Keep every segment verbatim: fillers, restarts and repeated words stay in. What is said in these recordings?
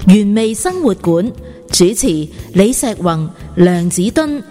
原味生活館主持李石宏、梁子敦。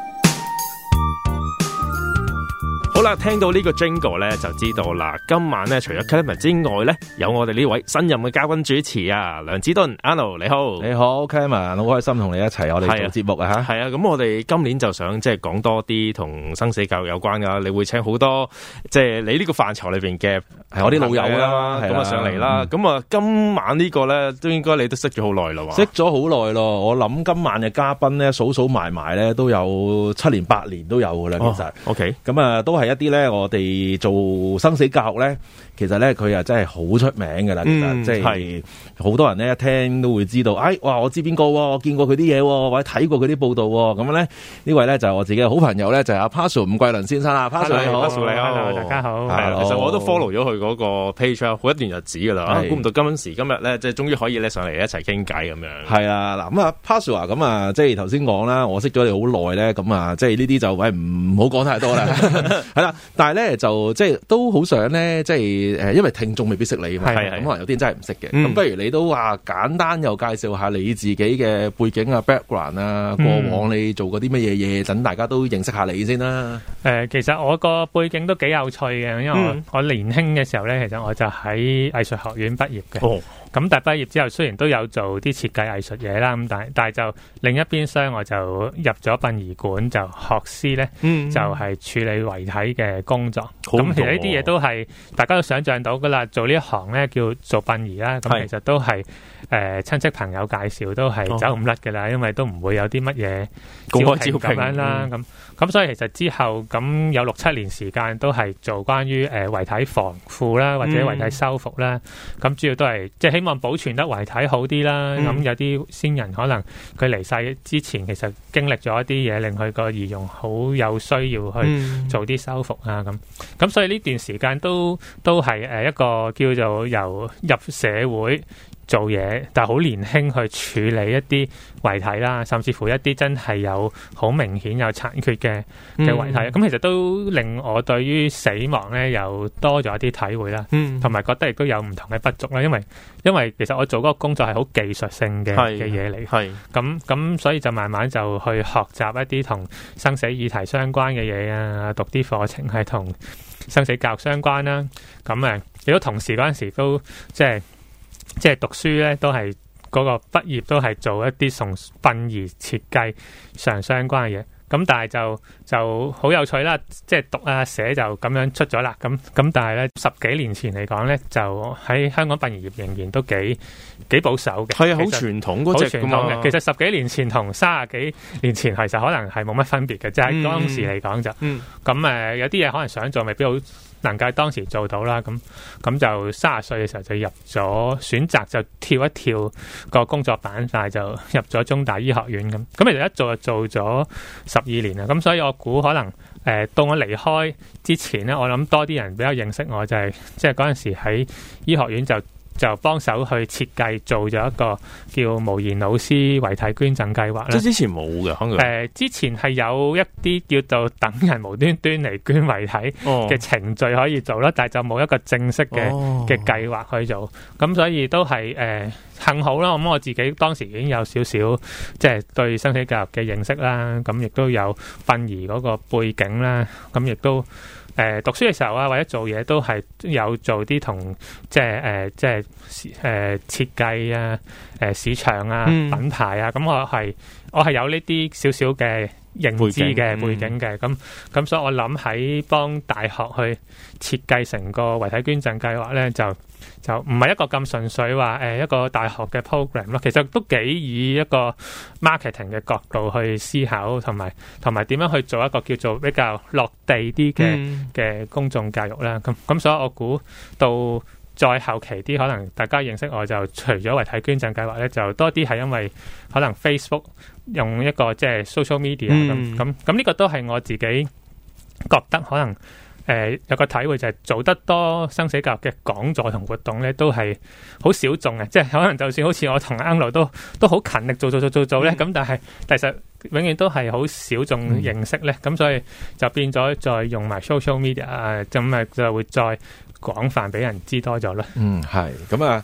好啦，聽到呢個 jingle 咧，就知道啦。今晚咧，除咗 Clement 之外咧，有我哋呢位新任嘅嘉賓主持啊，梁子敦 Arnold 你好， 你好 Clement， 好開心同你一齊我哋做節目啊吓。 係啊，咁我哋今年就想即係講多啲同生死教育有關噶，你會請好多即係你呢個範疇裏邊嘅係我啲老友啦，咁啊上嚟啦。咁啊、嗯、今晚呢個咧都應該你都識咗好耐咯， 識咗好耐咯。我諗今晚嘅嘉賓咧數數埋埋咧都有七年八年都有噶啦，其實。 O K， 咁啊都係一啲咧，我哋做生死教育咧，其實咧佢又真係好出名噶啦。其實即係好多人咧一聽都會知道，哎，哇，我知邊個，我見過佢啲嘢，或者睇過佢啲報道。咁咧呢位咧就係我自己嘅好朋友咧，就係阿 Pazu 伍桂倫先生啦。Pazu 你好， Pazu 你好， Hello， 大家好。 係，其實我都 follow 咗佢嗰個 page 好一段日子噶啦。估唔到今時今日咧，即係終於可以咧上嚟一齊傾偈咁樣。係啊，嗱咁啊 Pazu 啊，咁啊即係頭先講啦，我識咗你好耐咧，咁啊即係呢啲就喂唔好講太多啦。係啦，但係咧就即係都好想咧，即係誒，因為聽眾未必識你嘛，咁可能有啲人真係唔識嘅。咁、嗯、不如你都話簡單又介紹下你自己嘅背景啊 background 啊，過往你做過啲乜嘢嘢，等大家都認識下你先啦。 誒、呃，其實我個背景都幾有趣嘅，因為我、嗯、我年輕嘅時候咧，其實我就喺藝術學院畢業嘅。哦。咁但係畢業之後，雖然都有做啲設計藝術嘢啦，咁但係但係就另一邊廂，我就入咗殯儀館，就學師咧、嗯，就係、是、處理遺體嘅工作。咁、嗯、其實呢啲嘢都係大家都想象到噶啦，做呢一行咧叫做殯儀啦。咁其實都係誒親戚朋友介紹，都係走唔甩噶啦，因為都唔會有啲乜嘢公開招聘咁樣啦。咁、嗯、咁所以其實之後咁有六七年時間都係做關於誒遺體防腐啦，或者遺體修復啦。咁、嗯、主要都係即係希望保存得遺體好啲啦。咁、嗯、有啲先人可能佢離世之前，其實經歷咗一啲嘢，令佢個儀容好有需要去做啲修復啊。咁、嗯、咁所以呢段時間都都係誒一個叫做由入社會做嘢，但係好年輕去處理一啲遺體啦，甚至乎一啲真係有好明顯有殘缺嘅嘅遺體。咁、嗯、其實都令我對於死亡咧又多咗一啲體會啦，同、嗯、埋覺得亦都有唔同嘅不足啦。因為因為其實我做嗰個工作係好技術性嘅嘅嘢嚟，係咁咁，所以就慢慢就去學習一啲同生死議題相關嘅嘢啊，讀啲課程係同生死教育相關啦。咁誒，亦都同時嗰陣時都即係。即係讀書咧，都係嗰個畢業都係做一啲同殯儀設計上相關嘅嘢。咁但係就就好有趣啦，即係讀啊寫就咁樣出咗啦。咁咁但係咧十幾年前嚟講咧，就喺香港殯儀業仍然都幾幾保守嘅。係啊，好傳統嗰隻㗎嘛。其實十幾年前同三十幾年前其實可能係冇乜分別嘅，即係當時嚟講就。嗯。咁誒有啲嘢可能想做，未必好能夠當時做到啦。咁咁就三十歲嘅時候就入咗，選擇就跳一跳個工作板塊，就入咗中大醫學院咁。咁其實一做就做咗十二年啦。咁所以我估可能誒、呃、到我離開之前咧，我諗多啲人比較認識我，就係即係嗰陣時喺醫學院就就幫手去設計做咗一個叫無言老師遺體捐贈計劃啦。即係之前冇嘅，可能誒之前係有一啲叫做等人無端端嚟捐遺體嘅程序可以做啦、哦，但係就冇一個正式嘅嘅計劃去做。咁所以都係誒、呃、幸好啦。咁我自己當時已經有少少即係對生死教育嘅認識啦，咁亦都有殯儀嗰個背景啦，咁亦都。誒、呃、讀書嘅時候啊，或者做嘢都係有做啲同即係誒即係誒設計啊、誒、呃、市場啊、嗯、品牌啊，咁我係我係有呢啲少少嘅認知嘅背景嘅，咁咁、嗯、所以我諗喺幫大學去設計成個遺體捐贈計劃咧，就就唔係一個咁純粹話誒、呃、一個大學嘅 program 咯，其實都幾以一個 marketing 嘅角度去思考，同埋同埋點樣去做一個叫做比較落地啲嘅嘅公眾教育啦。咁咁所以我估到再後期啲，可能大家認識我就除咗遺體捐贈計劃咧，就多啲係因為可能 Facebook 用一個即係 social media 咁咁咁呢個都係我自己覺得可能。誒、呃、有個體會就係做得多生死教育嘅講座同活動咧，都係好小眾嘅，即係可能就算好似我同 Angelo 都都好勤力做做做做做咧，咁、嗯、但係其實永遠都係好小眾認識咧，咁、嗯、所以就變咗再用埋 social media 啊，咁啊就會再廣泛俾人知多咗啦。嗯，係咁啊。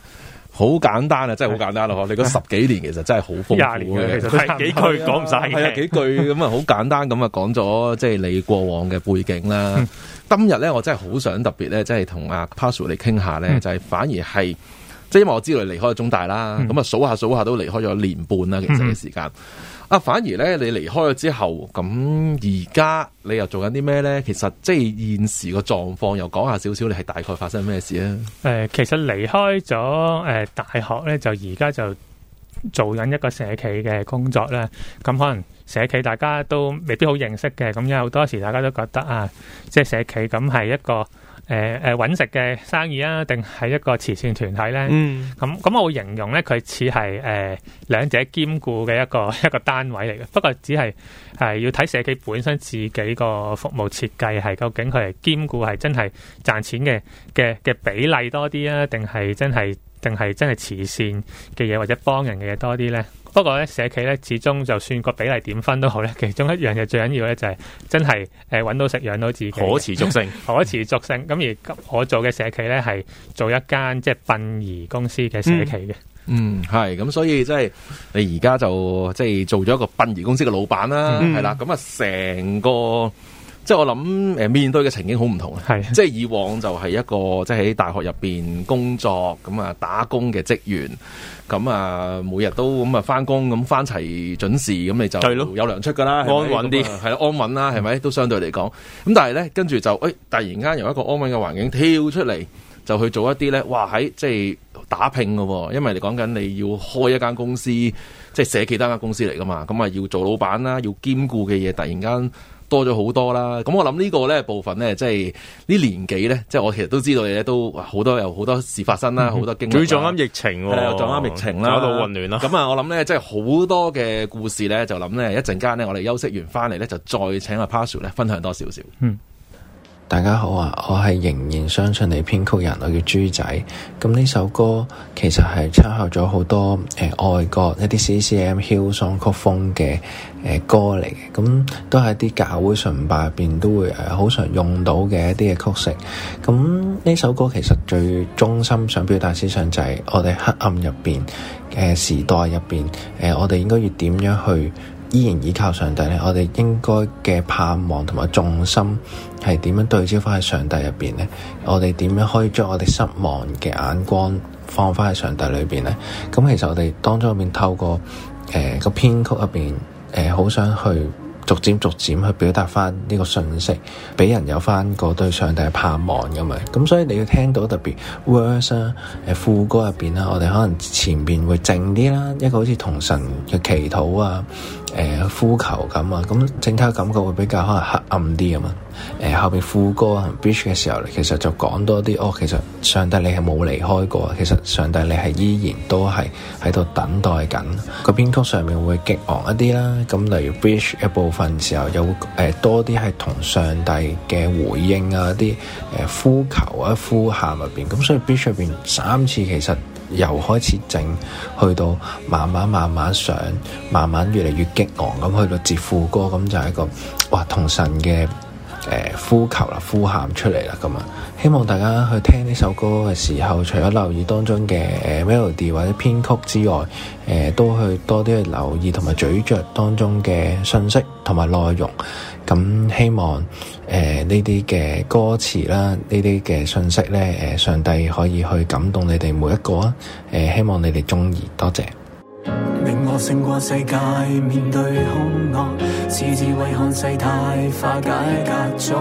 好簡單啊，真係好簡單咯！你嗰十幾年其實真係好豐富嘅， 其實係幾句講唔晒嘅， 係啊幾句咁啊，好簡單咁啊講咗即係你過往嘅背景啦。嗯、今日咧，我真係好想特別咧，即係同阿 Pazu 嚟傾下咧，嗯、就係反而係即係因為我知道你離開咗中大啦，咁啊、嗯、數下數下都離開咗年半啦，其實嘅時間。嗯啊，反而咧，你離開咗之後，咁而家你又做緊啲咩咧？其實即係現時個狀況，又講下少少，你係大概發生咩事啊？誒、 呃，其實離開咗誒、呃、大學咧，就而家就做緊一個社企嘅工作咧。咁可能社企大家都未必好認識嘅，咁有好多時大家都覺得啊，即係社企咁係一個。誒誒揾食嘅生意啊，定係一個慈善團體咧？嗯，咁咁我會形容咧，佢似係誒兩者兼顧嘅一個一個單位嚟嘅。不過只係係要睇社企本身自己個服務設計係究竟佢係兼顧係真係賺錢嘅嘅嘅比例多啲啊，定係真係定係真係慈善嘅嘢或者幫人嘅嘢多啲咧？不過咧，社企咧，始終就算個比例點分都好咧，其中一樣嘢最緊要咧就係真係誒揾到食養到自己， 可持續性， 可持續性。咁而我做嘅社企咧係做一間即係殯儀公司嘅社企嘅。 嗯，係咁，所以即係你而家就即係做咗一個殯儀公司嘅老闆啦，係啦、嗯。咁啊，成個即係我諗誒面對嘅情景好唔同啊。係，即係以往就係一個即係喺大學入邊工作咁啊打工嘅職員。咁啊，每日都咁啊翻工，咁翻齊準時，咁你就有糧出噶啦，安穩啲，係啦，安穩啦，係咪？都相對嚟講，咁但係咧，跟住就誒、哎，突然間由一個安穩嘅環境跳出嚟，就去做一啲咧，哇！喺即係打拼噶，因為你講緊你要開一間公司，即係社企單間公司嚟噶嘛，咁啊要做老闆啦，要兼顧嘅嘢，突然間多咗好多啦，咁我諗呢個咧部分咧，即係呢年紀咧，即係我其實都知道你咧都好多有好多事發生啦，好、嗯、多經歷。最撞啱疫情，係啊，撞啱疫情啦，搞到混亂啦。咁啊，我諗咧，即係好多嘅故事咧，就諗咧一陣間咧，我哋休息完翻嚟咧，就再請阿 Pazu 咧分享多少少。嗯。 大家好啊，我係仍然相信你編曲人，我叫豬仔。咁呢首歌其實係參考咗好多誒、呃、外國一啲 C C M Hillsong 曲風嘅誒、呃、歌嚟嘅，咁都係啲教會崇拜入邊都會誒好、呃、常用到嘅一啲嘅曲式。咁呢首歌其實最中心想表達思想就係我哋黑暗入邊嘅時代入邊，誒、呃、我哋應該要點樣去依然依靠上帝咧？我哋應該嘅盼望同埋重心係點樣對焦翻喺上帝入邊咧？我哋點樣可以將我哋失望嘅眼光放翻喺上帝裏邊咧？咁其實我哋當中入邊透過誒、呃、個編曲入邊誒好想去逐漸逐漸去表達翻呢個信息，俾人有翻個對上帝嘅盼望咁嘛。咁所以你要聽到特別 verse 啊，誒副歌入邊啦，我哋可能前邊會靜啲啦，一個好似同神嘅祈禱啊，誒、呃、呼求咁啊，咁整體感覺會比較可能黑暗啲啊嘛。誒、呃、後邊副歌啊 bridge 嘅時候，其實就講多啲哦，其實上帝你係冇離開過，其實上帝你係依然都係喺度等待緊。個編曲上面會激昂一啲啦，咁例如 bridge 一部分時候有誒、呃、多啲係同上帝嘅回應啊，啲誒、呃、呼求啊呼喊入邊，咁所以 bridge 入邊三次其實由開始靜去到慢慢慢慢上，慢慢越嚟越激昂咁去到接副歌，咁就係一個哇同神嘅誒、呃、呼求啦，呼喊出嚟啦咁啊！希望大家去聽呢首歌嘅時候，除咗留意當中嘅誒、呃、melody 或者編曲之外，誒、呃、都去多啲去留意同埋咀嚼當中嘅信息同埋內容。咁希望誒呢啲嘅歌詞啦，呢啲嘅信息咧，誒、呃、上帝可以去感動你哋每一個啊！誒、呃、希望你哋中意，多謝。 令我勝過世界，面對兇惡，此智慧看世態，化解隔阻，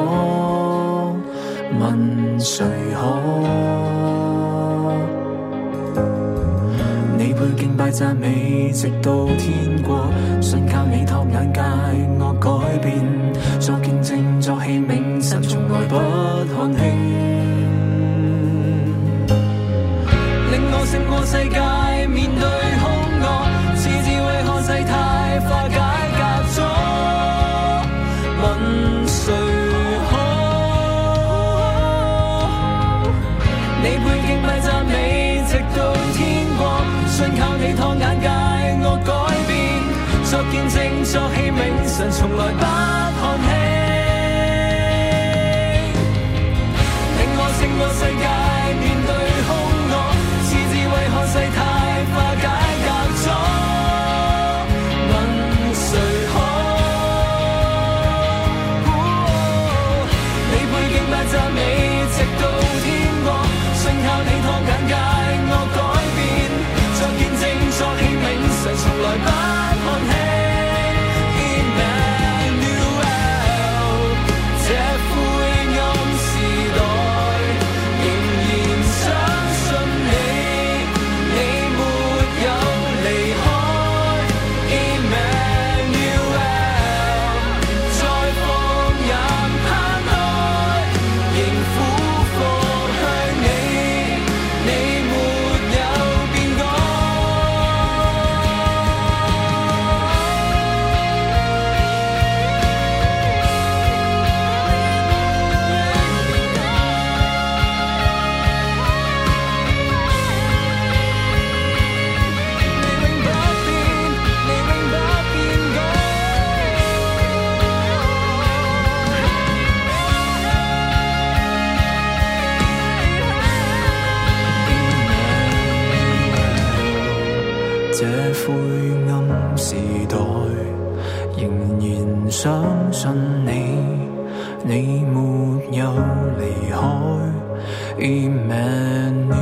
問誰可？你配敬拜讚美，直到天國，信靠你托眼界，我改變，作見證，作器皿，神從來不看輕。令我勝過世界，面對兇惡，賜智慧看世態，化解隔阻，問誰可？你配敬拜讚美，直到天國，信靠你托眼界，我改變，作見證，作器皿，神從來不看輕。令我勝過世界，面對兇惡，賜智慧看世灰暗時代，仍然相信你，你沒有離開。Emmanuel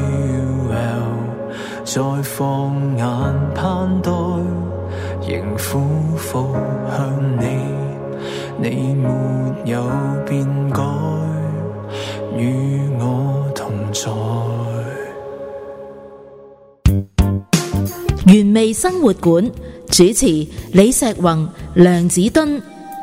再放眼盼待，仍俯伏向你，你沒有變改，與我同在。 原味生活館主持李石宏、梁子敦。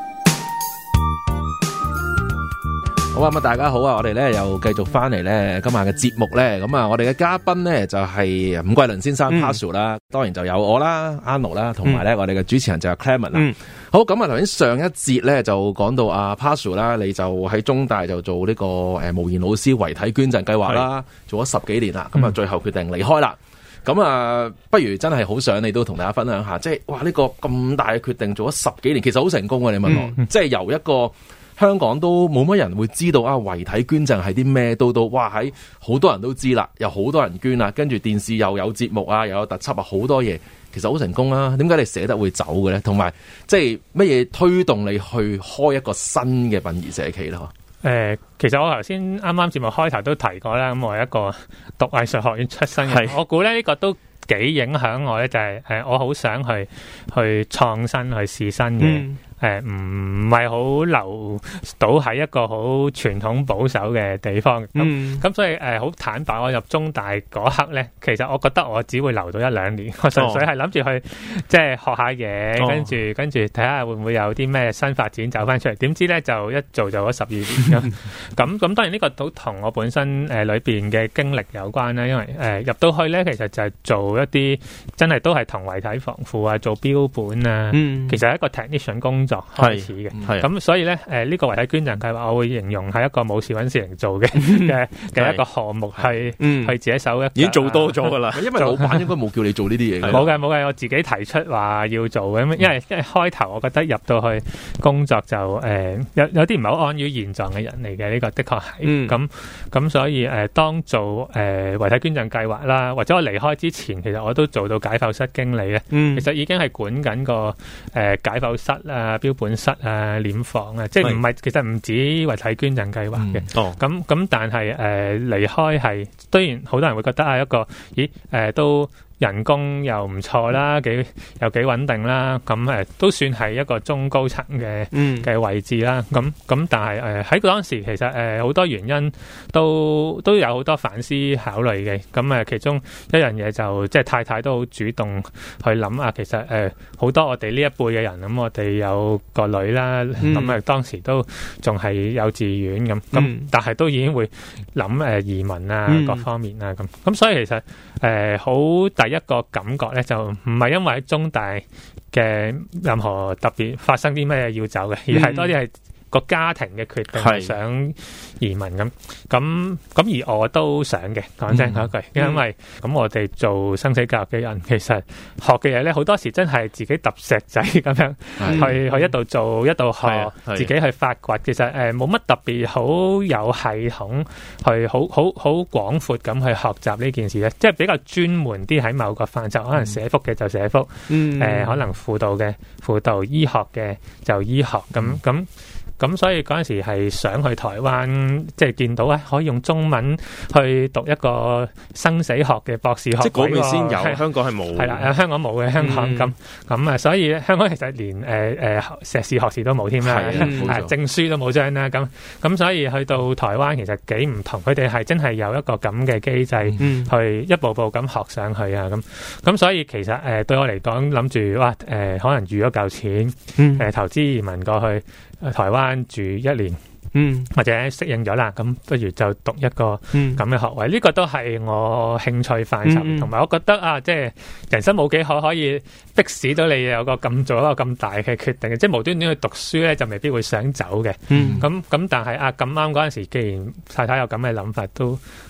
好啊，咁大家好啊，我哋咧又繼續翻嚟咧今晚嘅節目咧，咁啊，我哋嘅嘉賓咧就係伍桂麟先生 Pazu 啦，嗯、當然就有我啦 Anno 啦，同埋咧我哋嘅主持人就係 Clement 啦。嗯、好，咁啊頭先上一節咧就講到阿 Pazu 啦，你就喺中大就做呢個誒無言老師遺體捐贈計劃啦，做咗十幾年啦，咁啊、嗯、最後決定離開啦。咁啊，不如真係好想你都同大家分享下，即係哇呢個咁大嘅決定做咗十幾年，其實好成功啊！你問我，嗯、即係由一個香港都冇乜人會知道啊，遺體捐贈係啲咩？到到哇喺好多人都知啦，有好多人捐啦，跟住電視又有節目啊，又有特輯啊，好多嘢，其實好成功啊！點解你捨得會走嘅咧？同埋即係乜嘢推動你去開一個新嘅殯儀社企咧？ 誒、呃，其實我頭先啱啱節目開頭都提過啦，咁我係一個讀藝術學院出身嘅，是我估咧呢、這個都幾影響我咧，就係、是、誒、呃，我好想去去創新去試新嘅。嗯誒，唔係好留到喺一個好傳統保守嘅地方，咁咁、嗯、所以誒，好、呃、坦白，我入中大嗰刻咧，其實我覺得我只會留到一兩年，我純粹係諗住去、哦、即係學下嘢，哦、跟住跟住睇下會唔會有啲咩新發展走翻出嚟。點知咧就一做就咗十二年咁，咁咁當然呢個都同我本身誒、呃、裏邊嘅經歷有關啦，因為誒、呃、入到去咧，其實就係做一啲真係都係同遺體防腐啊，做標本啊，嗯、其實係一個 technician 工作開始嘅，咁所以咧，誒、呃、呢、這個遺體捐贈計劃，我會形容係一個冇事揾事情做嘅嘅嘅一個項目，係去自己手一，已經做多咗噶啦。因為老闆應該冇叫你做呢啲嘢，冇嘅冇嘅，我自己提出話要做嘅，因為因為開頭我覺得入到去工作就誒、呃、有有啲唔係好安於現狀嘅人嚟嘅，呢、這個的確係，咁咁、嗯、所以誒、呃、當做誒遺、呃、體捐贈計劃啦，或者我離開之前，其實我都做到解剖室經理咧，嗯、其實已經係管緊個誒、呃、解剖室啊、標本室啊、殮房啊，即係唔係，其實唔止遺體捐贈計劃嘅。哦，咁咁，但係誒離開係，雖然好多人會覺得啊，一個咦誒、呃、都。人工又唔錯啦，幾又幾穩定啦，咁誒、呃、都算係一個中高層嘅嘅位置啦。咁咁但係誒喺當時其實誒好、呃、多原因都都有好多反思考慮嘅。咁誒、呃、其中一樣嘢就即係太太都好主動去諗啊。其實誒好、呃、多我哋呢一輩嘅人，咁我哋有個女啦，咁誒、嗯、當時都仲係幼稚園咁，咁、嗯、但係都已經會諗誒移民啊、嗯、各方面啊咁。咁所以其實誒好、呃、第一個感覺咧，就唔係因為喺中大嘅任何特別發生啲咩要走嘅，而係多啲係個家庭嘅決定，係想移民咁。咁咁而我都想嘅，講真嗰句，因為咁我哋做生死教育嘅人，其實學嘅嘢咧，好多時真係自己揼石仔咁樣去去一度做一度學，自己去發掘。其實誒冇乜特別好有系統去好好好廣闊咁去學習呢件事咧，即係比較專門啲喺某個範疇，可能社福嘅就社福，誒可能輔導嘅輔導，醫學嘅就醫學咁咁。咁所以嗰陣時係想去台灣，即係見到咧可以用中文去讀一個生死學嘅博士學位。即係嗰邊先有，是香港係冇。係啦，香港冇嘅，香港咁咁啊，所以香港其實連誒誒、呃、碩士學士都冇添啦，係證書都冇張啦。咁咁所以去到台灣其實幾唔同，佢哋係真係有一個咁嘅機制，嗯、去一步步咁學上去啊。咁咁所以其實誒、呃、對我嚟講，諗住哇誒、呃、可能預咗嚿錢，誒、嗯呃、投資移民過去。台灣住一年，嗯，或者適應咗啦，咁不如就讀一個咁嘅學位，呢、嗯、個都係我興趣範疇，同埋、嗯、我覺得啊，即係人生冇幾可可以迫使到你有個咁做一個咁大嘅決定，即係無端端去讀書咧，就未必會想走嘅。咁咁、嗯，但係啊咁啱嗰陣時，既然太太有咁嘅諗法，都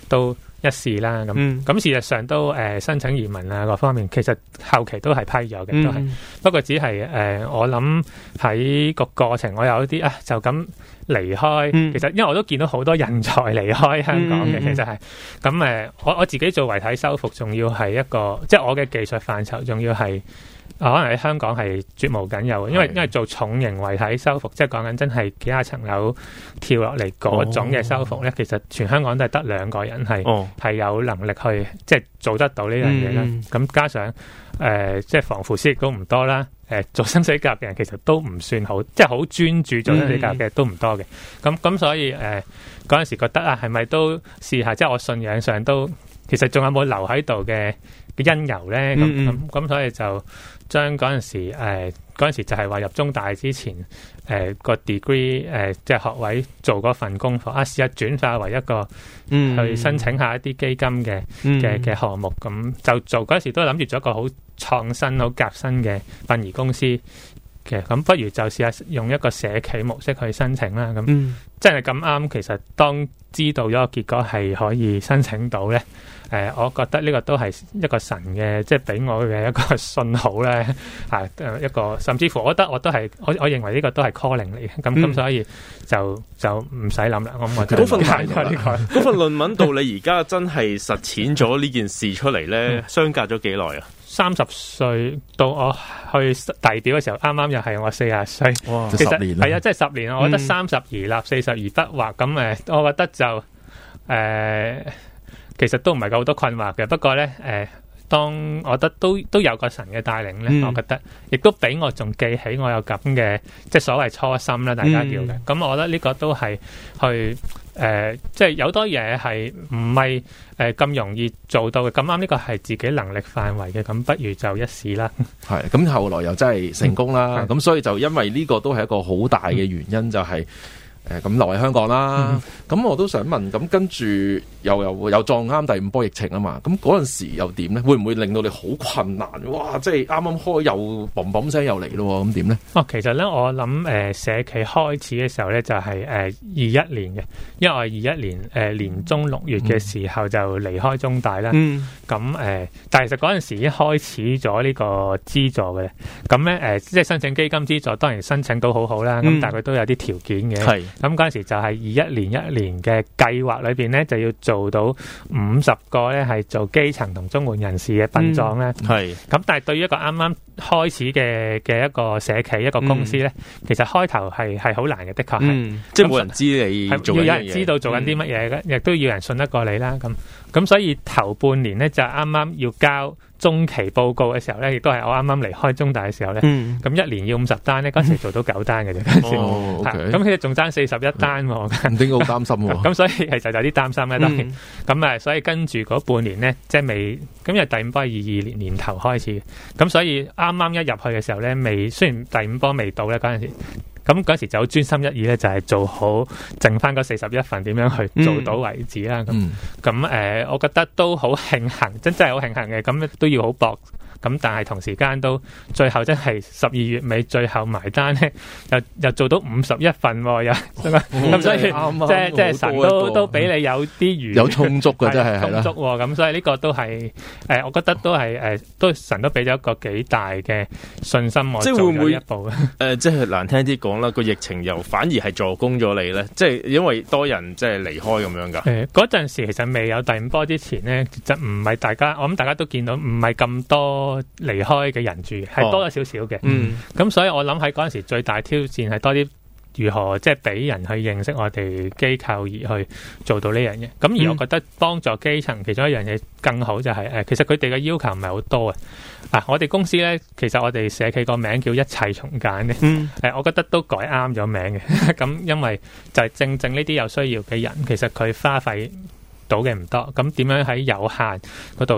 都一試啦。咁咁、嗯、事實上都誒、呃、申請移民啊各方面，其實後期都係批咗嘅，都係、嗯、不過只係誒、呃、我諗喺個過程，我有一啲啊就咁離開。嗯、其實因為我都見到好多人才離開香港嘅，嗯、其實係咁誒，我我自己做遺體修復，仲要係一個即係我嘅技術範疇，仲要係。可能喺香港係絕無僅有嘅，因為因為做重型遺體修復，即係講緊真係幾廿層樓跳落嚟嗰種嘅修復咧，哦、其實全香港都係得兩個人係係、哦、有能力去即係做得到呢樣嘢啦。咁、嗯、加上誒、呃，即係防腐師亦都唔多啦。誒、呃，做生死甲嘅人其實都唔算好，即係好專注做生死甲嘅都唔多嘅。咁咁、嗯、所以誒，嗰、呃、陣時覺得啊，係咪都試下？即係我信仰上都，其實仲有冇留喺度嘅嘅因由咧？咁咁咁，所以就。將嗰陣時誒嗰陣時就係話入中大之前誒、呃、個 degree 誒、呃、即係學位做嗰份功課啊，試下轉化為一個、嗯、去申請下一啲基金嘅嘅嘅項目，咁就做嗰陣時都諗住做一個好創新好革新嘅殯儀公司嘅，咁不如就試下用一個社企模式去申請啦。咁、嗯、真係咁啱，其實當知道咗個結果係可以申請到咧。誒、呃，我覺得呢個都係一個神嘅，即係俾我嘅一個信號咧，係誒一個，甚至乎我覺得我都係，我我認為呢個都係 calling 嚟嘅，咁咁、嗯、所以就就唔使諗啦。我我嗰份論文，嗰份論文到你而家真係實踐咗呢件事出嚟咧，相隔咗幾耐啊？ 三十歲到我去遞表嘅時候，啱啱又係我四十歲， 哇！ 其實十年係啊，即係十年。我覺得三十而立，四十而不惑。咁誒，我覺得就誒。呃其實都唔係夠好多困惑嘅，不過咧，誒、呃，當我覺得都都有個神嘅帶領咧，嗯、我覺得亦都俾我仲記起我有咁嘅，即係所謂初心啦，大家叫嘅。咁、嗯、我覺得呢個都係去誒、呃，即係有多嘢係唔係誒咁容易做到嘅。咁啱呢個係自己能力範圍嘅，咁不如就一試啦。係， 咁後來又真係成功啦。咁、嗯、所以就因為呢個都係一個好大嘅原因，嗯、就係、是。誒咁留喺香港啦，咁、嗯、我都想問，咁跟住又又又撞啱第五波疫情啊嘛，咁嗰陣時又點咧？會唔會令到你好困難？哇！即係啱啱開又嘣嘣聲又嚟咯，咁點咧？ 哦，其實咧我諗誒、呃、社企開始嘅時候咧就係誒二一年嘅，因為我係二一年誒、呃、年中六月嘅時候就離開中大啦。嗯。咁誒、呃，但係其實嗰陣時已經開始咗呢個資助嘅，咁咧誒即係申請基金資助，當然申請到好好啦。咁、嗯、但係佢都有啲條件嘅。係。咁嗰陣時就係二一年一年嘅計劃裏邊咧，就要做到五十個咧係做基層同綜援人士嘅殯葬咧。係、嗯。咁但係對於一個啱啱開始嘅嘅一個社企一個公司咧，嗯、其實開頭係係好難嘅，的確係。嗯、 即係冇人知你做緊嘢。要有人知道做緊啲乜嘢嘅，亦、嗯、都要人信得過你啦。咁咁所以頭半年咧就啱啱要交中期報告嘅時候咧，亦都係我啱啱離開中大嘅時候咧。咁、嗯、一年要五十單咧，嗰時做到九單嘅啫。嗰時哦，咁其實仲爭四十一單喎。 唔應該好擔心喎。 咁所以其實有啲擔心咧，當然。咁啊，所以跟住嗰半年咧，即係未，咁因為第五波係二二年年頭開始，咁所以啱啱一入去嘅時候咧，未雖然第五波未到咧嗰陣時。咁嗰時就好專心一意咧，就係做好剩翻嗰四十一份點樣去做到為止啦。咁咁誒，我覺得都好慶幸，真真係好慶幸嘅。咁都要好搏。咁但係同時間都最後真係十二月尾最後埋單咧，又又做到五十一份喎，又咁所以即係即係神都都俾你有啲餘有充足嘅真係係啦， 充足喎。咁所以呢個都係誒，我覺得都係誒，都神都俾咗一個幾大嘅信心我做咗一步誒，即係難聽啲講啦，個疫情又反而係助攻咗你咧，即係因為多人即係離開咁樣㗎。誒嗰陣時其實未有第五波之前咧，就唔係大家我諗大家都見到唔係咁多。離開嘅人住係多咗少少嘅，咁、嗯、所以我諗喺嗰陣時最大挑戰係多啲如何即係俾人去認識我哋機構而去做到呢樣嘢。咁而我覺得幫助基層其中一樣嘢更好就係、是、誒，其實佢哋嘅要求唔係好多啊。啊，我哋公司咧，其實我哋社企個名叫一切從簡嘅，誒、嗯呃，我覺得都改啱咗名嘅。咁因為就係正正呢啲有需要嘅人，其實佢花費到嘅唔多，咁點樣喺有限嗰度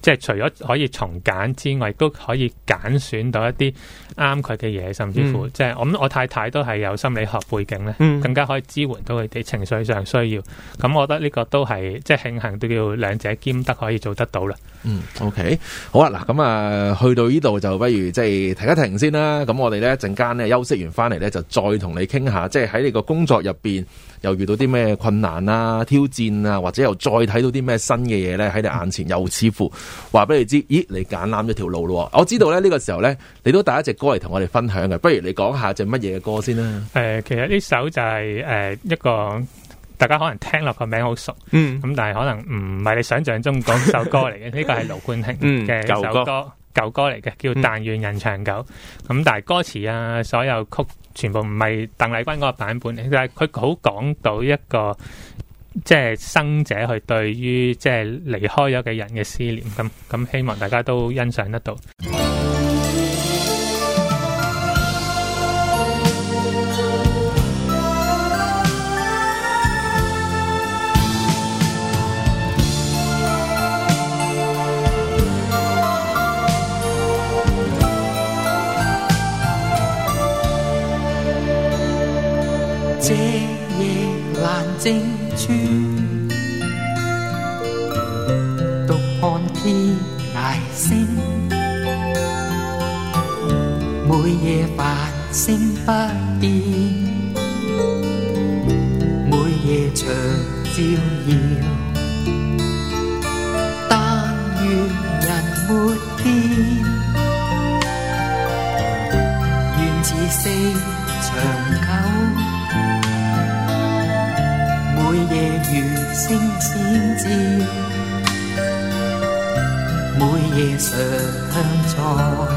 即係除咗可以從簡之外，都可以揀選到一啲啱佢嘅嘢，甚至乎、嗯、即係我我太太都係有心理學背景咧，嗯、更加可以支援到佢哋情緒上需要。咁我覺得呢個都係即係慶幸都叫兩者兼得可以做得到啦。 嗯 ，OK， 好啊，嗱，咁啊，去到呢度就不如即係停一停先啦。咁我哋咧陣間咧休息完翻嚟咧，就再同你傾下，即係喺你個工作入邊又遇到啲咩困難啊、挑戰啊，或者又再睇到啲咩新嘅嘢咧喺你眼前，又似乎話俾你知，咦，你揀啱咗條路咯。我知道咧呢個時候咧，你都帶一隻歌嚟同我哋分享嘅，不如你講下隻乜嘢嘅歌先啦。 誒、呃，其實呢首就係、是、誒、呃、一個。大家可能聽落個名好熟，咁、嗯、但係可能唔係你想象中嗰首歌嚟嘅。呢個係盧冠廷嘅首歌，舊歌嚟嘅，叫《但願人長久》。咁、嗯、但係歌詞啊，所有曲全部唔係鄧麗君嗰個版本嚟，但係佢好講到一個即係生者去對於即係離開咗嘅人嘅思念。咁咁希望大家都欣賞得到。 這夜闌靜處，獨看天涯星，每夜繁星不變，每夜長照耀，但願人沒變，願此世長久。每夜如星閃照，每夜常在。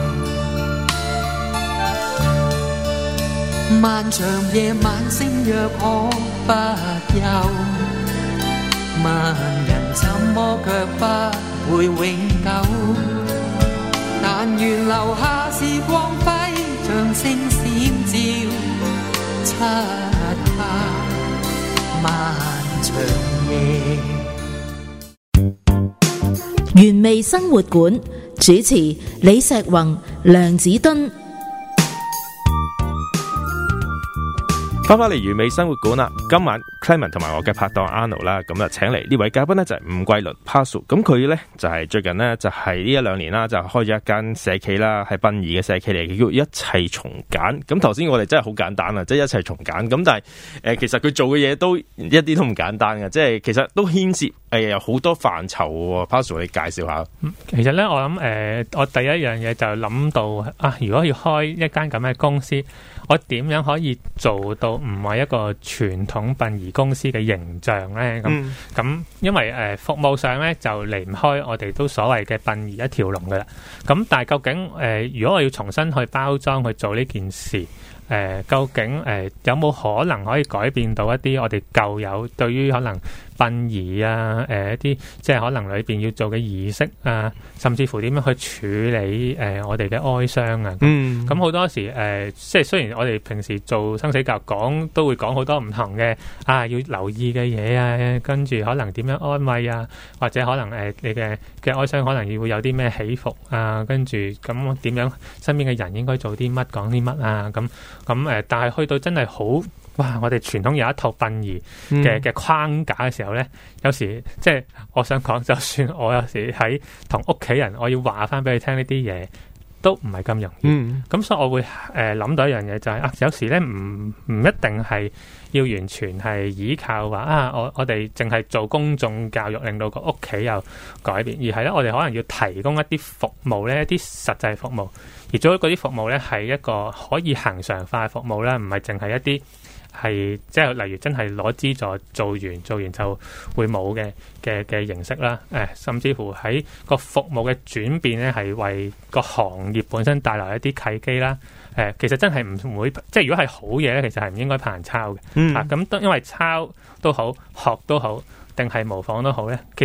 漫長夜晚星若可不休，問人怎麼卻不會永久？但願留下時光輝，像星閃照，漆黑漫長夜。 原味生活館主持李石宏、梁子敦。 翻返嚟原味生活館啦，今晚 Clement 同埋我嘅拍檔 Arnold 啦，咁啊請嚟呢位嘉賓呢，就係伍桂麟 Pazu， 咁佢咧就係、是、最近呢，就係呢一兩年啦，就開咗一間社企啦，係殯儀嘅社企嚟嘅，叫一切從簡。咁頭先我哋真係好簡單啊，即、就、係、是、一切從簡。咁但係誒、呃，其實佢做嘅嘢都一啲都唔簡單嘅，即係其實都牽涉誒有好多範疇。Pazu，你介紹下。 其實咧，我諗誒、呃，我第一樣嘢就諗到啊，如果要開一間咁嘅公司，我點樣可以做到唔係一個傳統殯儀公司嘅形象咧？咁咁、嗯，因為誒、呃、服務上咧就離唔開我哋都所謂嘅殯儀一條龍噶啦。咁但係究竟誒、呃，如果我要重新去包裝去做呢件事，誒、呃，究竟誒、呃、有冇可能可以改變到一啲我哋舊有對於可能殯儀啊，誒、呃、一啲即係可能裏邊要做嘅儀式啊，甚至乎點樣去處理誒、呃、我哋嘅哀傷啊？嗯，咁好多時誒、呃，即係雖然我哋平時做生死教育講都會講好多唔同嘅啊，要留意嘅嘢啊，跟住可能點樣安慰啊，或者可能誒、呃、你嘅嘅哀傷可能要會有啲咩起伏啊，跟住咁點樣身邊嘅人應該做啲乜講啲乜啊？咁咁誒，但係去到真係好。哇！我哋傳統有一套殯儀嘅嘅框架嘅時候咧，嗯、有時即係我想講，就算我有時喺同屋企人，我要話翻俾佢聽呢啲嘢，都唔係咁容易。咁、嗯、所以我會誒諗、呃、到一樣嘢就係、是、啊，有時咧唔唔一定係要完全係依靠話啊，我我哋淨係做公眾教育，令到個屋企有改變，而係咧我哋可能要提供一啲服務咧，一啲實際服務，而做嗰啲服務咧係一個可以恆常化嘅服務啦，唔係淨係一啲。係即係例如真係攞資助做完做完就會冇嘅嘅嘅形式啦，誒、呃、甚至乎喺個服務嘅轉變咧，係為個行業本身帶來一啲契機啦。誒、呃、其實真係唔會，即係如果係好嘢咧，其實係唔應該怕人抄嘅。嗯、啊咁，因為抄都好，學都好，定係模仿都好咧，其實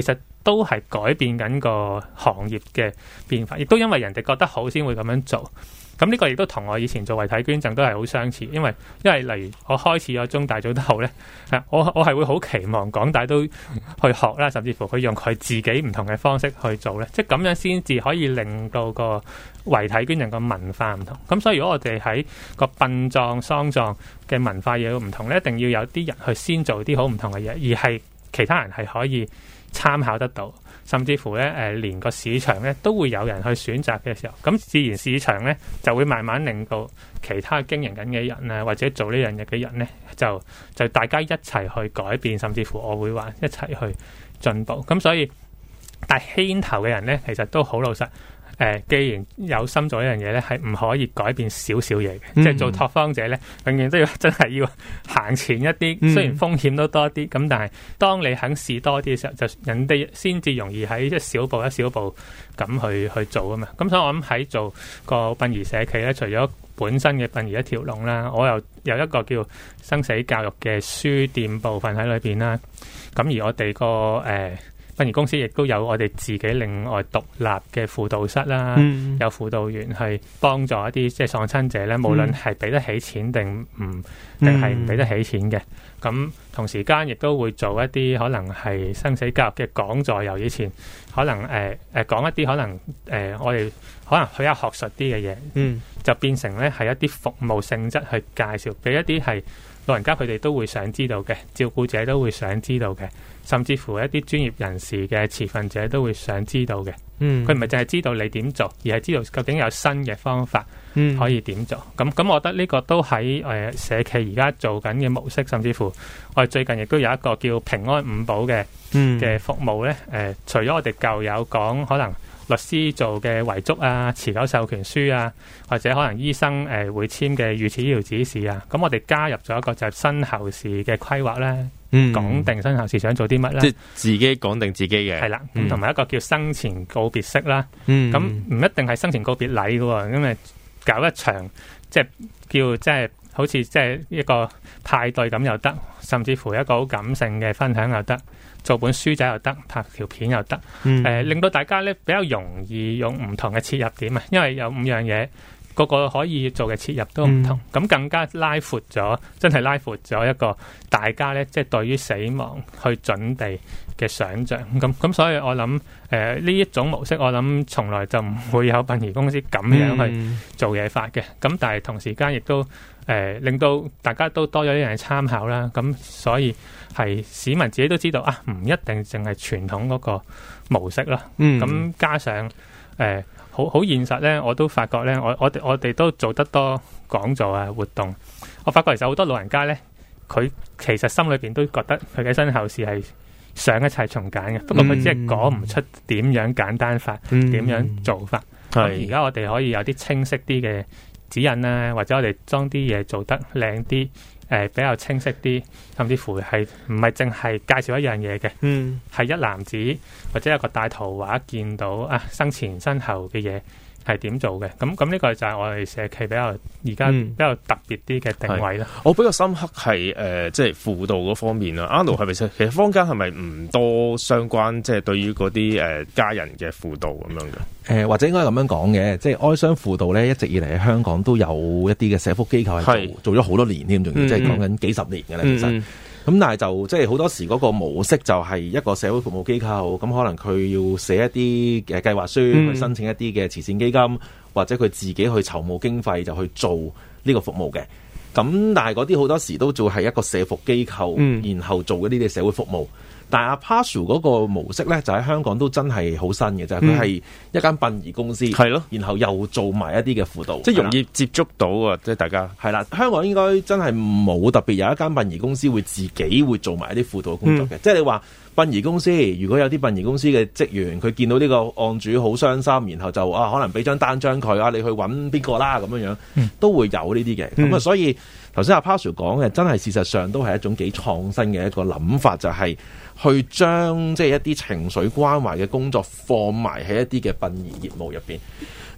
都係改變緊個行業嘅變化，亦都因為人哋覺得好先會咁樣做。咁呢個亦都同我以前做遺體捐贈都係好相似，因為因為例如我開始咗中大做得好咧，我我係會好期望港大都去學啦，甚至乎佢用佢自己唔同嘅方式去做咧，即係咁樣先至可以令到個遺體捐贈個文化唔同。咁所以如果我哋喺個殯葬喪葬嘅文化嘢唔同咧，一定要有啲人去先做啲好唔同嘅嘢，而係其他人係可以參考得到。甚至乎咧，誒、呃，連個市場咧都會有人去選擇嘅時候，咁自然市場咧就會慢慢令到其他經營緊嘅人啊，或者做呢樣嘢嘅人咧，就就大家一齊去改變，甚至乎我會話一齊去進步。咁所以，但係牽頭嘅人咧，其實都好老實。誒、呃，既然有心做一樣嘢咧，係唔可以改變少少嘢嘅，嗯、即係做拓荒者咧，永遠都要真係要行前一啲。嗯、雖然風險都多啲，咁但係當你肯試多啲嘅時候，就人哋先至容易喺一小步一小步咁去去做啊嘛。咁所以我諗喺做個殯儀社企咧，除咗本身嘅殯儀一條龍啦，我又有一個叫生死教育嘅書店部分喺裏邊啦。咁而我哋個誒。呃殯儀公司亦都有我哋自己另外獨立嘅輔導室啦，嗯、有輔導員去幫助一啲即係喪親者咧，無論係俾得起錢定唔定係唔俾得起錢嘅。咁、嗯、同時間亦都會做一啲可能係生死教育嘅講座，由以前可能誒誒、呃呃、講一啲可能誒、呃、我哋可能比較學術啲嘅嘢，嗯、就變成咧係一啲服務性質去介紹俾一啲係老人家佢哋都會想知道嘅，照顧者都會想知道嘅，甚至乎一啲專業人士嘅持份者都會想知道嘅。嗯，佢唔係淨係知道你點做，而係知道究竟有新嘅方法可以點做。咁咁、嗯，我覺得呢個都喺誒、呃、社企而家做緊嘅模式，甚至乎我哋最近亦都有一個叫平安五寶嘅嘅服務咧。誒、呃，除咗我哋舊有講可能律師做嘅遺囑啊、持久授權書啊，或者可能醫生誒、呃、會簽嘅預設醫療指示啊，咁我哋加入咗一個就係身後事嘅規劃咧。嗯，講定身後事想做啲乜啦， 即係自己講定自己嘅， 係啦。咁同埋一個叫生前告別式啦。嗯，咁唔一定係生前告別禮嘅，咁咪搞一場即係叫即係好似即係一個派對咁又得，甚至乎一個好感性嘅分享又得，做本書仔又得，拍條片又得。誒、嗯呃，令到大家咧比較容易用唔同嘅切入點啊，因為有五樣嘢。個個可以做嘅切入都唔同，咁、嗯、更加拉闊咗，真係拉闊咗一個大家咧，即係對於死亡去準備嘅想像。咁咁，所以我諗誒呢一種模式，我諗從來就唔會有殯儀公司咁樣去做嘢法嘅。咁、嗯、但係同時間亦都誒、呃、令到大家都多咗一樣嘢參考啦。咁所以係市民自己都知道啊，唔一定淨係傳統嗰個模式啦。咁、嗯、加上誒。呃好好現實咧，我都發覺咧，我我哋我哋都做得多講座啊活動。我發覺其實好多老人家咧，佢其實心裏邊都覺得佢嘅身後事係想一切從簡嘅，不過佢只係講唔出點樣簡單法，點、嗯、樣做法。而家、嗯、我哋可以有啲清晰啲嘅指引啦，或者我哋將啲嘢做得靚啲。誒、呃，比較清晰啲，甚至乎係唔係淨係介紹一樣嘢嘅，嗯，係一籃子或者有個大圖畫見到啊，生前身後嘅嘢係點做嘅，咁咁呢個就係我哋社企比較而家比較特別啲嘅定位啦、嗯。 我比較深刻係誒、呃，即係輔導嗰方面啦。阿 Arnold 係咪其實坊間係咪唔多相關，即係對於嗰啲誒家人嘅輔導咁樣嘅？ 誒、呃，或者應該咁樣講嘅，即係哀傷輔導咧，一直以嚟喺香港都有一啲嘅社福機構係做做咗好多年添，仲要即係講緊幾十年嘅啦，其實。嗯嗯咁但係就即係好多時嗰個模式就係一個社會服務機構，咁可能佢要寫一啲嘅計劃書、嗯、去申請一啲嘅慈善基金，或者佢自己去籌募經費就去做呢個服務嘅。咁但係嗰啲好多時都做係一個社福機構，嗯、然後做嗰啲嘅社會服務。但係阿 Pazu 嗰個模式咧，就喺香港都真係好新嘅，就係佢係一間殯儀公司，係咯、嗯，然後又做埋一啲嘅輔導，即係容易接觸到啊！即係大家係啦，香港應該真係冇特別有一間殯儀公司會自己會做埋一啲輔導工作嘅。嗯、即係你話殯儀公司，如果有啲殯儀公司嘅職員，佢見到呢個案主好傷心，然後就啊可能俾張單張佢啊，你去揾邊個啦咁樣樣，嗯、都會有呢啲嘅。咁啊、嗯，所以頭先阿 Pazu 講嘅，真係事實上都係一種幾創新嘅一個諗法，就係、是。去將即係一啲情緒關懷嘅工作放埋喺一啲嘅殯儀業務入邊。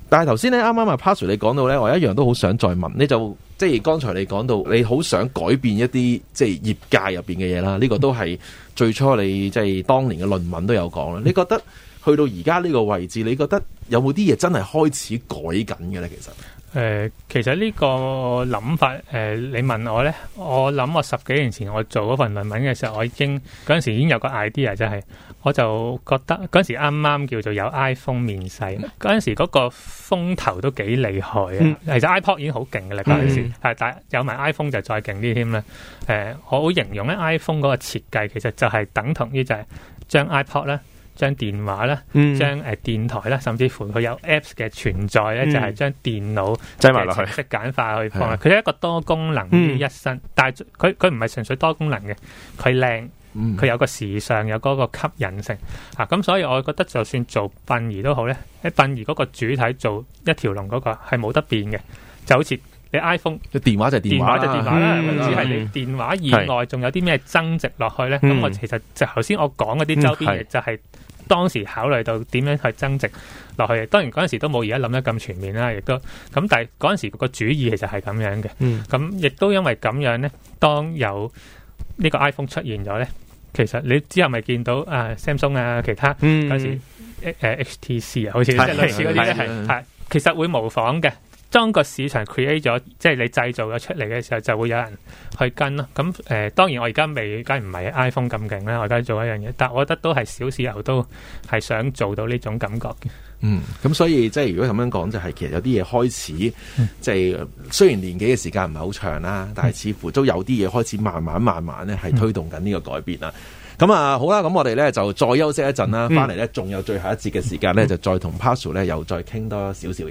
但係頭先咧，啱啱阿 Pazu 你講到咧，我一樣都好想再問，你就即係剛才你講到你好想改變一啲即係業界入邊嘅嘢啦，呢、這個都係最初你即係當年嘅論文都有講啦。你覺得去到而家呢個位置，你覺得有冇啲嘢真係開始改緊嘅咧？其實？ 誒、呃，其實呢個諗法，誒、呃，你問我咧，我諗我十幾年前我做嗰份論文嘅時候，我已經嗰陣時已經有個 idea，就係我就覺得嗰陣時啱啱叫做有 iPhone 面世，嗰陣時嗰個風頭都幾厲害啊！嗯、其實 iPod 已經好勁嘅啦，嗰陣時係，但係有埋 iPhone 就再勁啲添啦。誒、呃，我會形容咧 iPhone 嗰個設計其實就係等同於就係將 iPod 咧。將電話啦，將誒、呃、電台啦，甚至乎佢有 Apps 嘅存在咧，嗯、就係將電腦擠埋落去，程式簡化去放。佢係一個多功能於一身，嗯、但係佢佢唔係純粹多功能嘅，佢靚，佢、嗯、有個時尚，有嗰個吸引性啊。咁所以我覺得就算做殯儀都好咧，喺殯儀嗰個主體做一條龍嗰個係冇得變嘅，就好似你 iPhone， 電話就係電話， 電話就電話啦，只係、嗯、你電話以外仲有啲咩增值落去咧？咁、嗯、我其實就頭先我講嗰啲周邊嘢就係、是。當時考慮到點樣去增值落去，當然嗰陣時都冇而家諗得咁全面啦，亦都咁，但係嗰陣時個主意其實係咁樣嘅。咁亦、嗯、都因為咁樣咧，當有呢個 iPhone 出現咗咧，其實你之後咪見到啊 Samsung 啊其他嗰、嗯、時誒、呃、H T C 啊，好似即係類似嗰啲咧係係，其實會模仿嘅。當個市場 create 咗，即係你製造咗出嚟嘅時候，就會有人去跟咯。咁誒、呃，當然我而家未，梗係唔係 iPhone 咁勁啦。我而家做一樣嘢，但係我覺得都係小時候都係想做到呢種感覺嘅。 嗯，咁所以即係如果咁樣講，就係、是、其實有啲嘢開始，嗯、即係雖然年紀嘅時間唔係好長啦，但係似乎都有啲嘢開始慢慢慢慢咧係推動緊呢個改變啦。咁、嗯、啊，好啦，咁我哋咧就再休息一陣啦，翻嚟咧仲有最後一節嘅時間咧，嗯、就再同 Pazu 咧又再傾多少少嘢。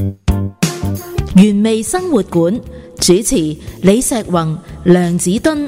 原味生活館主持李石宏、梁子敦。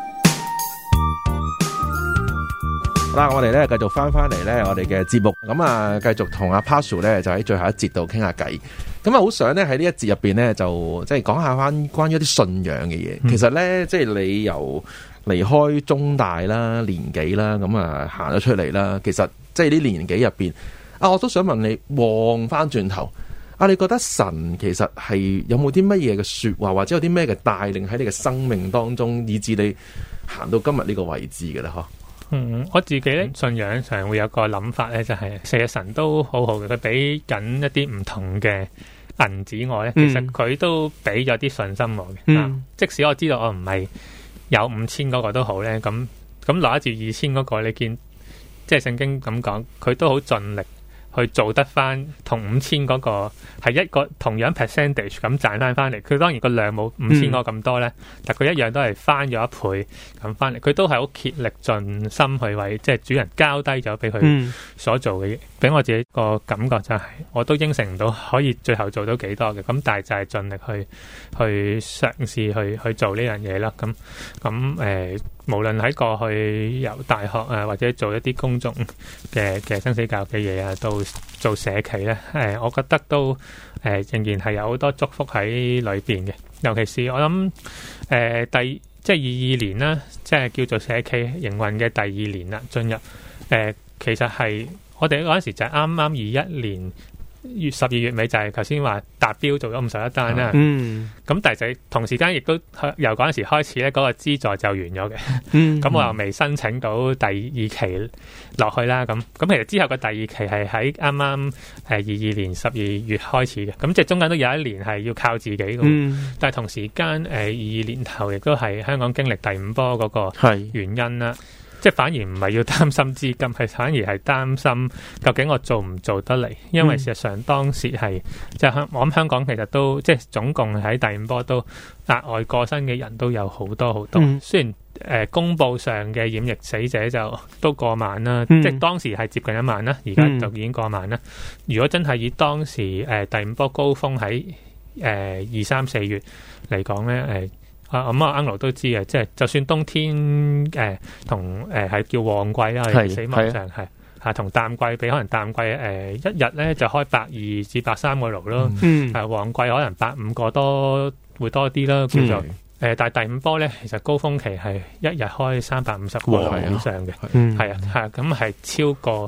好啦，我哋咧繼續翻翻嚟咧，我哋嘅節目咁啊，繼續同阿 Pazu 咧就喺最後一節度傾下偈。咁啊，好想咧喺呢一節入邊咧，就即係講下翻關於一啲信仰嘅嘢。嗯、其實咧，即係你由離開中大啦、年紀啦，咁啊行咗出嚟啦。其實即係呢年紀入邊啊，我都想問你望翻轉頭。啊！你覺得神其實係有冇啲乜嘢嘅說話，或者有啲咩嘅帶領喺你嘅生命當中，以至你行到今日呢個位置嘅咧？嗬？ 嗯，我自己咧信仰上會有個諗法咧，就係、是、其實神都好好嘅，佢俾緊一啲唔同嘅銀紙我咧，其實佢都俾咗啲信心我嘅。嗯、啊，即使我知道我唔係有五千嗰個都好咧，咁咁攞住二千嗰個，你見即係聖經咁講，佢都好盡力。去做得翻同五千嗰個係一個同樣 percentage 咁賺翻翻嚟，佢當然個量冇五千個咁多咧，嗯、但佢一樣都係翻咗一倍咁翻嚟，佢都係好竭力盡心去為即係主人交低咗俾佢所做嘅嘢，俾、嗯、我自己個感覺就係、是、我都應承唔到可以最後做到幾多嘅，咁但係就係盡力去去嘗試去去做呢樣嘢啦，咁咁誒。無論喺過去由大學啊，或者做一啲公眾嘅嘅生死教育嘅嘢啊，到做社企咧，誒、呃，我覺得都誒、呃、仍然係有好多祝福喺裏邊嘅。尤其是我諗誒、呃、第即係二二年啦，即係叫做社企營運嘅第二年啦，進入誒、呃、其實係我哋嗰陣時就係啱啱二一年。月十二月尾就係頭先話達標做咗五十一單啦，嗯，咁但係同時間亦都由嗰陣時開始咧，嗰個資助就完咗嘅，嗯，咁我又未申請到第二期落去啦，咁咁其實之後嘅第二期係喺啱啱誒二二年十二月開始嘅，咁即係中間都有一年係要靠自己嘅，嗯，但係同時間誒二二年頭亦都係香港經歷第五波嗰個原因啦。即係反而唔係要擔心資金，係反而係擔心究竟我做唔做得嚟？因為事實上當時係即係香，我諗香港其實都即係總共喺第五波都額外過身嘅人都有好多好多。嗯、雖然誒、呃、公佈上嘅染疫死者就都過萬啦，嗯、即係當時係接近一萬啦，而家就已經過萬啦。嗯、如果真係以當時誒、呃、第五波高峰喺誒二三四月嚟講咧，誒、呃。啊咁啊，Angelo都知嘅，即係就算冬天誒同誒係叫旺季啦，係死亡上係嚇同淡季比，可能淡季誒、呃、一日咧就開百二至百三個爐咯，嗯，係旺季可能百五個多會多啲啦，叫做誒、呃，但係第五波咧其實高峰期係一日開三百五十個爐以上嘅，係啊係啊，咁係超過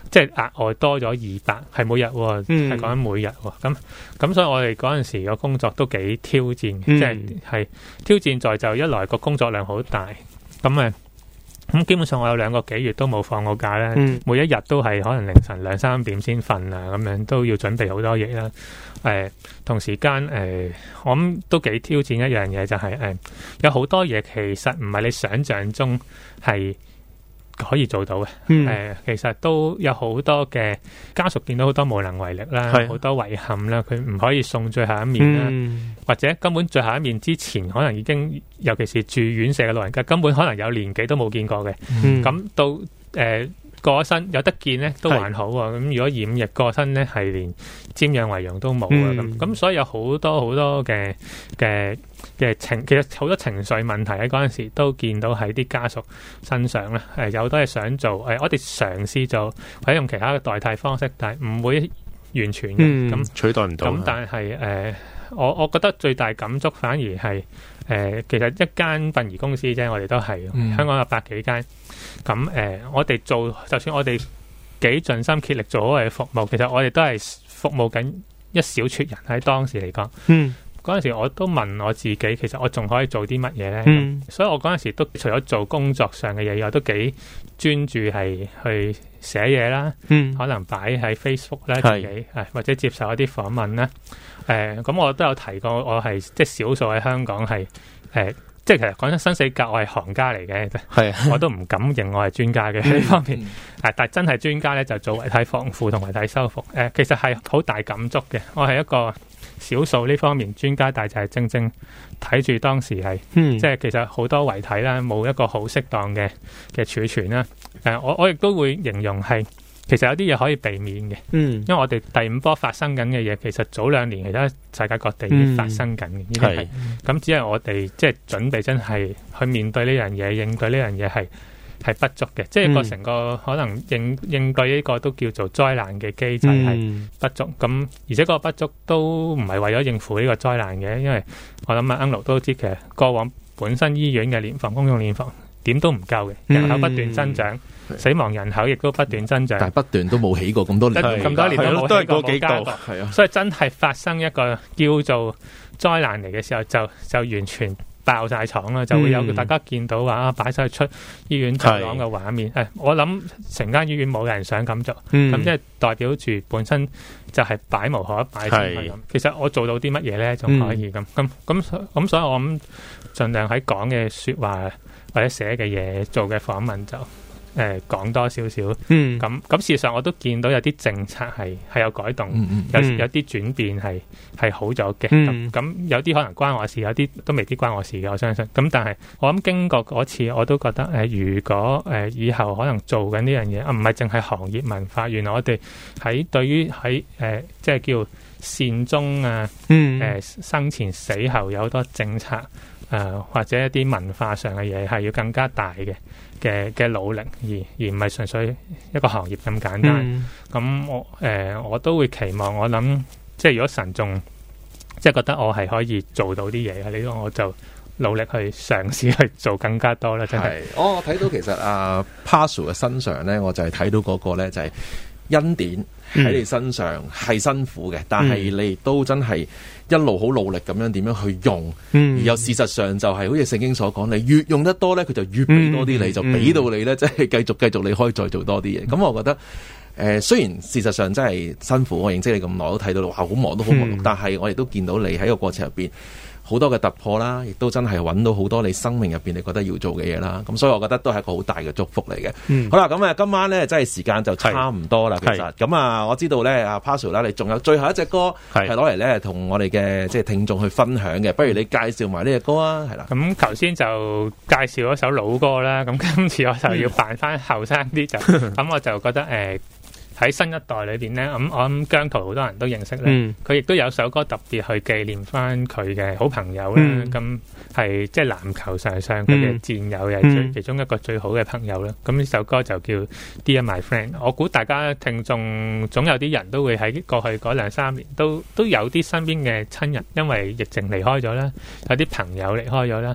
即係額外多咗二百，係每日喎，係講緊每日喎。咁咁所以我哋嗰陣時個工作都幾挑戰，嗯、即係係挑戰在就一來個工作量好大，咁誒咁基本上我有兩個幾月都冇放過假咧，嗯、每一日都係可能凌晨兩三點先瞓啊，咁樣都要準備好多嘢啦。誒、呃、同時間誒、呃，我諗都幾挑戰一樣嘢，就係、是、誒、呃、有好多嘢其實唔係你想象中係可以做到嘅。誒、嗯呃、其實都有好多嘅家屬見到好多無能為力啦，好是多遺憾啦，佢唔可以送最後一面啦，嗯、或者根本最後一面之前可能已經，尤其是住院舍嘅老人家，根本可能有年紀都冇見過嘅。咁、嗯、到誒。呃過身有得見咧都還好啊，咁如果染疫過身咧係連瞻仰遺容都冇啊，咁咁、嗯、所以有好多好多嘅嘅嘅情，其實好多情緒問題喺嗰陣時都見到喺啲家屬身上咧，誒有好多嘢想做，誒我哋嘗試做或者用其他嘅代替方式，但係唔會完全嘅，咁、嗯、 取代唔到。咁但係誒、呃，我我覺得最大感觸反而係誒、呃，其實一間殯儀公司啫，我哋都係、嗯、香港有百幾間。咁誒、呃，我哋做，就算我哋幾盡心竭力做好我哋服務，其實我哋都係服務緊一小撮人喺當時嚟講。嗯，嗰陣時我都問我自己，其實我仲可以做啲乜嘢咧？嗯，所以我嗰陣時都除咗做工作上嘅嘢，我都幾專注係去寫嘢啦。嗯，可能擺喺 Facebook 咧自己，係或者接受一啲訪問啦。誒、呃，咁我都有提過，我係即係少數喺香港係誒。呃即係其實講真，生死格我係行家嚟嘅，係是我都唔敢認我係專家嘅呢方面。誒、嗯，但係真係專家咧，就做遺體防腐同遺體修復。誒、呃，其實係好大感觸嘅。我係一個少數呢方面專家，但係就係正正睇住當時係，嗯、即係其實好多遺體啦，冇一個好適當嘅嘅儲存啦。誒、呃，我我亦都會形容係。其實有啲嘢可以避免嘅，嗯，因為我哋第五波發生緊嘅嘢，其實早兩年其他世界各地已經發生緊嘅，呢啲係，咁只係我哋即係準備真係去面對呢樣嘢，應對呢樣嘢係係不足嘅，即係個成個可能應應對呢個都叫做災難嘅機制係不足，咁、嗯、而且嗰個不足都唔係為咗應付呢個災難嘅，因為我諗阿 Uncle 都知其實過往本身醫院嘅殮房公用殮房點都唔夠嘅，人口不斷增長。嗯死亡人口亦都不斷增長， 但係不斷都冇起過咁多年， 咁多年都冇起過冇加過， 係啊， 所以真係發生一個叫做災難嚟嘅時候，就就完全爆晒廠啦，就會有大家見到話啊擺晒出醫院走廊嘅畫面。誒，我諗成間醫院冇人想咁做，咁即係代表住本身就係擺無可擺咁。其實我做到啲乜嘢咧，仲可以咁咁咁咁，所以我諗盡量喺講嘅說話或者寫嘅嘢、做嘅訪問就。誒講、呃、多少少，嗯，咁咁事實上我都見到有啲政策係係有改動，嗯、有有啲轉變係係好咗嘅，咁咁、嗯、有啲可能關我事，有啲都未必關我事嘅，我相信。咁但係我諗經過嗰次，我都覺得誒、呃，如果誒、呃、以後可能做緊呢樣嘢，啊唔係淨係行業文化，原來我哋喺對於喺誒即係叫善終啊，誒、嗯呃、生前死後有好多政策。誒、呃、或者一啲文化上嘅嘢係要更加大嘅嘅嘅努力，而而唔係純粹一個行業咁簡單。咁、嗯、我誒、呃、我都會期望，我諗即係如果神仲即係覺得我係可以做到啲嘢嘅，呢個我就努力去嘗試去做更加多啦。真係， 我睇到其實阿 Pazu 嘅身上咧，我就係睇到嗰個咧就係恩典喺你身上係辛苦嘅，嗯、但係你都真係一路好努力咁樣點樣去用，嗯、而又事實上就係好似聖經所講，你越用得多咧，佢就越俾多啲你，嗯、就俾到你咧，即係繼續繼續你可以再做多啲嘢。咁、嗯、我覺得誒、呃，雖然事實上真係辛苦，我認識你咁耐都睇到哇，好忙都好忙碌，嗯、但係我亦都見到你喺個過程入邊。好多嘅突破啦，亦都真係揾到好多你生命入邊你覺得要做嘅嘢啦。咁所以我覺得都係一個好大嘅祝福嚟嘅。嗯、好啦，咁啊今晚咧真係時間就差唔多啦。是其實咁啊，我知道咧阿 Pazu 啦，你仲有最後一隻歌係攞嚟咧同我哋嘅即係聽眾去分享嘅。不如你介紹埋呢隻歌啊，係啦。 咁頭先就介紹一首老歌啦。咁今次我就要扮翻後生啲就，咁、嗯、我就覺得誒。呃喺新一代裏邊咧，咁我諗姜濤好多人都認識咧，佢亦、嗯、都有首歌特別去紀念翻佢嘅好朋友啦。咁係即係籃球場上佢嘅戰友，又係最其中一個最好嘅朋友啦。咁呢、嗯、首歌就叫 Dear My Friend。我估大家聽眾總有啲人都會喺過去嗰兩三年都都有啲身邊嘅親人因為疫情離開咗啦，有啲朋友離開咗啦。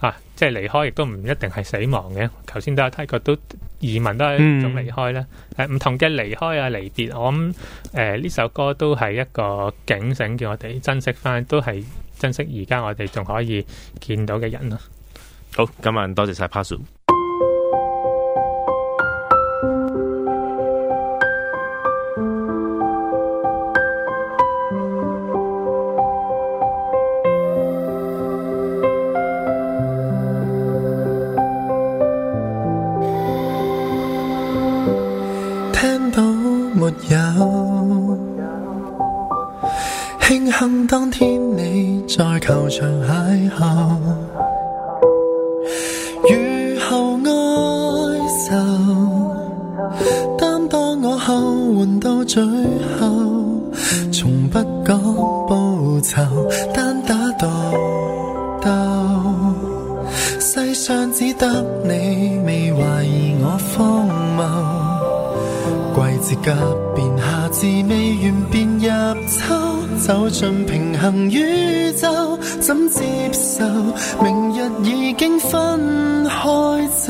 啊，即係離開亦都唔一定係死亡嘅。頭先都有提過，都移民都係一種離開啦。誒、嗯，唔、啊、同嘅離開啊、離別，我諗誒呢首歌都係一個警醒，叫我哋珍惜翻，都係珍惜而家我哋仲可以見到嘅人咯。 好，今晚多謝晒 Pazu。 慶幸當天你在球場邂逅，雨後哀愁，擔當我後援到最後，從不講報酬，單打獨鬥，世上只得你未懷疑我荒謬，季節急變，夏至未完便入秋，走進平衡宇宙，怎接受明日已經分開走？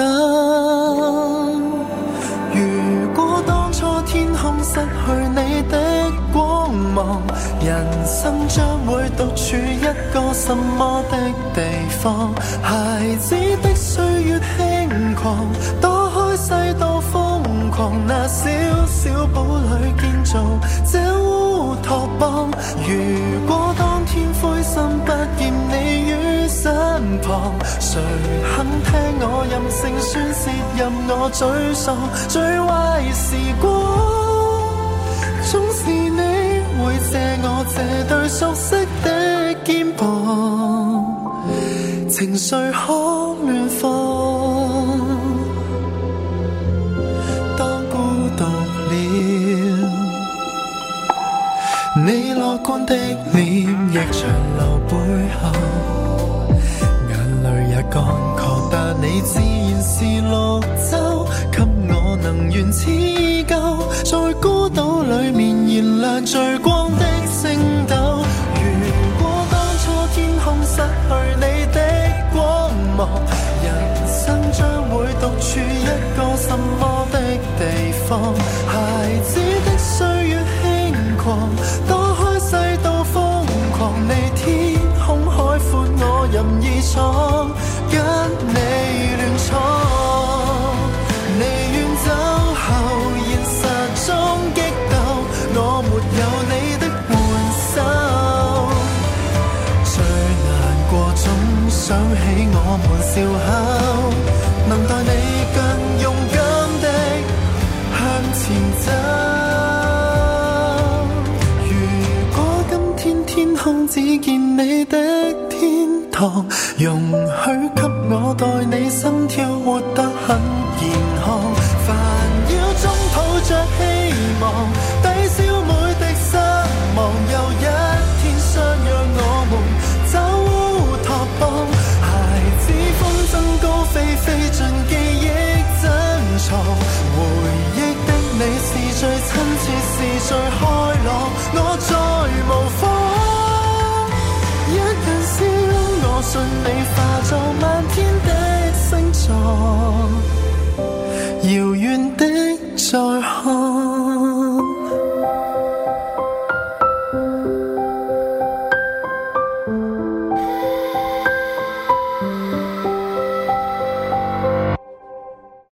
如果當初天空失去你的光芒，人生將會獨處一個什麼的地方？孩子的歲月輕狂，躲開世道瘋狂，那小小堡壘建造這烏托邦。如果當天灰心不見你於身旁，誰肯聽我任性宣洩，任我沮喪？最壞時光總是你會借我這對熟悉的肩膀，情緒可亂放。當孤獨了，你樂觀的臉亦長留背後，眼淚也乾涸，但你自然是綠洲，給我能源似舊，在孤島裡面燃亮最光的星斗。如果當初天空失去你的光芒，人生將會獨處一個什麼的地方？孩子的歲月輕狂，躲開世道瘋狂，你天空海闊，我任意闖，跟你亂闖。你遠走後，現實中激鬥，我沒有你的援手。最難過總想起我們笑口，能待你更勇敢的向前走。如果今天天空只見你的天堂，容許給我代你心跳活得很健康。煩擾中抱着希望，抵消每滴失望，又一天相約我們走烏托邦。孩子風箏高飛，飛進記憶珍藏，回憶的你是最親切，是最開朗，我再無妨。一人笑，我信你化作漫天的星座，遙遠的再看。